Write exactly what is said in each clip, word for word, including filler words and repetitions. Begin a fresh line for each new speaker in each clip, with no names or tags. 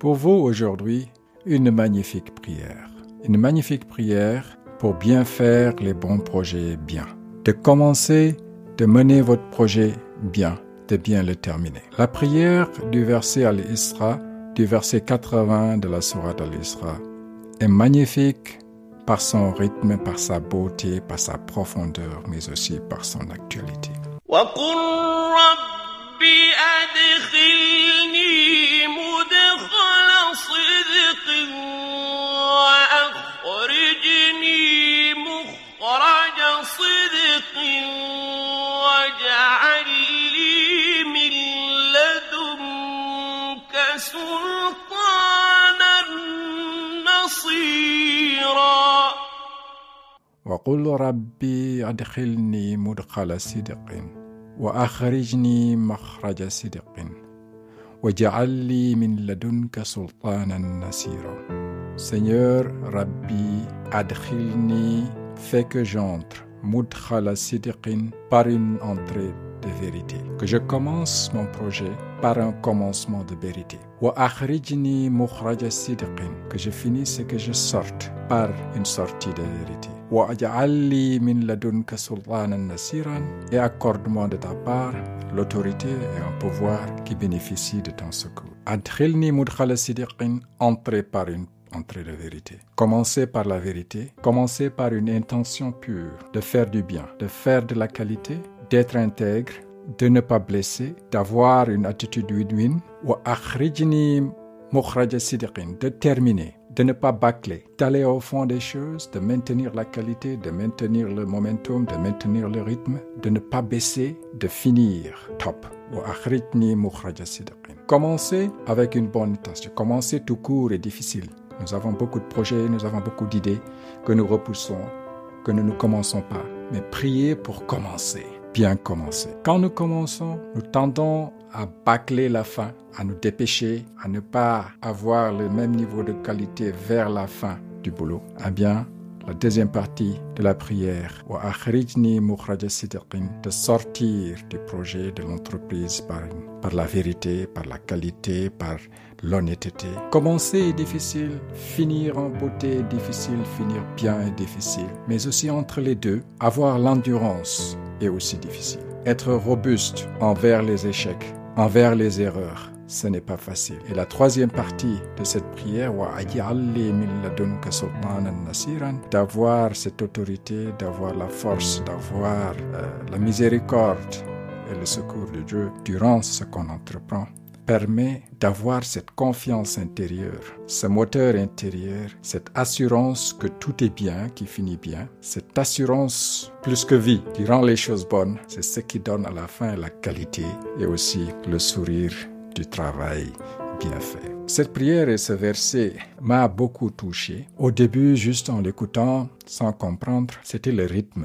Pour vous aujourd'hui, une magnifique prière. Une magnifique prière pour bien faire les bons projets bien. De commencer, de mener votre projet bien, de bien le terminer. La prière du verset Al-Isra, du verset quatre-vingts de la sourate Al-Isra, est magnifique par son rythme, par sa beauté, par sa profondeur, mais aussi par son actualité.
وَقُلْ رَبِّ أَدْخِلْنِي مُدْخَلَ صِدْقٍ وَأَخْرِجْنِي مُخْرَجَ صِدْقٍ وَاجْعَلْ لِي مِن لَّدُنكَ سُلْطَانًا نَّصِيرًا
وَقُلْ رَبِّ أَدْخِلْنِي مُدْخَلَ صِدْقٍ وَأَخْرِجْنِي مَخْرَجَ صِدْقٍ وَاجْعَلْ لِي مِن لَّدُنكَ سُلْطَانًا نَّصِيرًا. Seigneur Rabbi, adkhilni, fais que j'entre, mudkhala sidqin, par une entrée de vérité. Que je commence mon projet par un commencement de vérité. Wa akhrijni mukhraja sidqin, que je finisse et que je sorte par une sortie de vérité. Wa aj'al li min ladunka sultanan nasiran, et accorde-moi de ta part l'autorité et un pouvoir qui bénéficie de ton secours. Adkhilni mudkhala sidqin, entrer par une entrée de vérité. Commencez par la vérité, commencez par une intention pure de faire du bien, de faire de la qualité, d'être intègre, de ne pas blesser, d'avoir une attitude win-win. Wa akhrijni mukhraja sidqin, de terminer, de ne pas bâcler, d'aller au fond des choses, de maintenir la qualité, de maintenir le momentum, de maintenir le rythme, de ne pas baisser, de finir top. Wa akhrijni mukhraja sidqin. Commencez avec une bonne intention. Commencez tout court et difficile. Nous avons beaucoup de projets, nous avons beaucoup d'idées que nous repoussons, que nous ne commençons pas. Mais priez pour commencer, bien commencer. Quand nous commençons, nous tendons à bâcler la fin, à nous dépêcher, à ne pas avoir le même niveau de qualité vers la fin du boulot. Eh bien, la deuxième partie de la prière, wa akhrijni mukhraja sidqin, de sortir du projet, de l'entreprise par, par la vérité, par la qualité, par l'honnêteté. Commencer est difficile, finir en beauté est difficile, finir bien est difficile. Mais aussi entre les deux, avoir l'endurance est aussi difficile. Être robuste envers les échecs, envers les erreurs, ce n'est pas facile. Et la troisième partie de cette prière, wa aj'al li min ladunka sultanan nasiran, d'avoir cette autorité, d'avoir la force, d'avoir euh, la miséricorde et le secours de Dieu durant ce qu'on entreprend, permet d'avoir cette confiance intérieure, ce moteur intérieur, cette assurance que tout est bien, qui finit bien, cette assurance plus que vie, qui rend les choses bonnes, c'est ce qui donne à la fin la qualité et aussi le sourire du travail bien fait. Cette prière et ce verset m'a beaucoup touché. Au début, juste en l'écoutant, sans comprendre, c'était le rythme.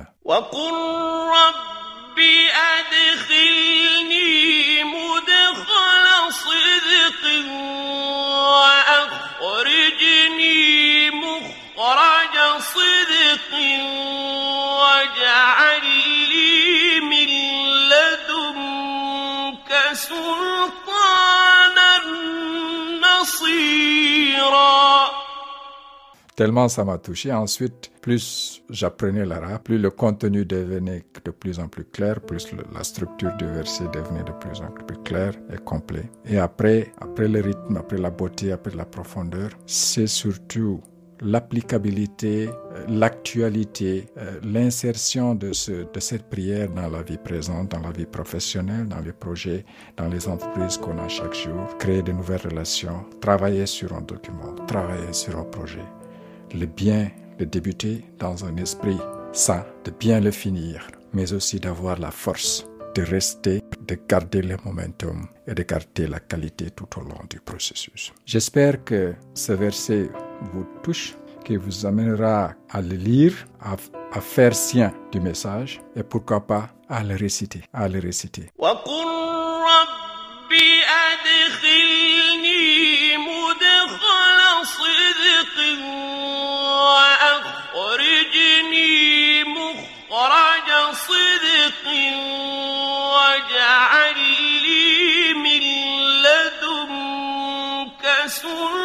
Tellement ça m'a touché. Ensuite, plus j'apprenais l'arabe, plus le contenu devenait de plus en plus clair, plus le, la structure du verset devenait de plus en plus claire et complet. Et après, après le rythme, après la beauté, après la profondeur, c'est surtout l'applicabilité, l'actualité, l'insertion de, ce, de cette prière dans la vie présente, dans la vie professionnelle, dans les projets, dans les entreprises qu'on a chaque jour, créer de nouvelles relations, travailler sur un document, travailler sur un projet. Le bien, le débuter dans un esprit sain, de bien le finir, mais aussi d'avoir la force de rester, de garder le momentum et de garder la qualité tout au long du processus. J'espère que ce verset vous touche, qui vous amènera à le lire, à, à faire sien du message et pourquoi pas à le réciter, à le réciter.
سلطانا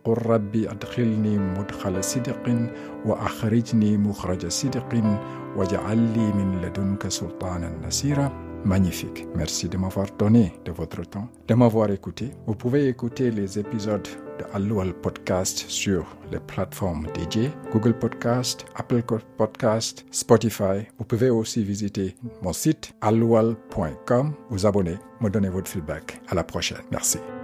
وقل ربي أدخلني مدخل صدق وأخرجني مخرج صدق واجعل لي من لدنك سلطانا نصيرا. Magnifique. Merci de m'avoir donné de votre temps, de m'avoir écouté. Vous pouvez écouter les épisodes de Al-Lual Podcast sur les plateformes dédiées, Google Podcast, Apple Podcast, Spotify. Vous pouvez aussi visiter mon site al lual point com, vous abonner, me donner votre feedback. À la prochaine. Merci.